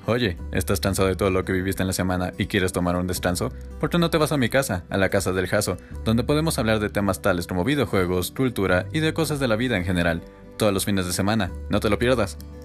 Oye, ¿estás cansado de todo lo que viviste en la semana y quieres tomar un descanso? ¿Por qué no te vas a mi casa, a la casa del Jaso, donde podemos hablar de temas tales como videojuegos, cultura y de cosas de la vida en general? Todos los fines de semana, no te lo pierdas.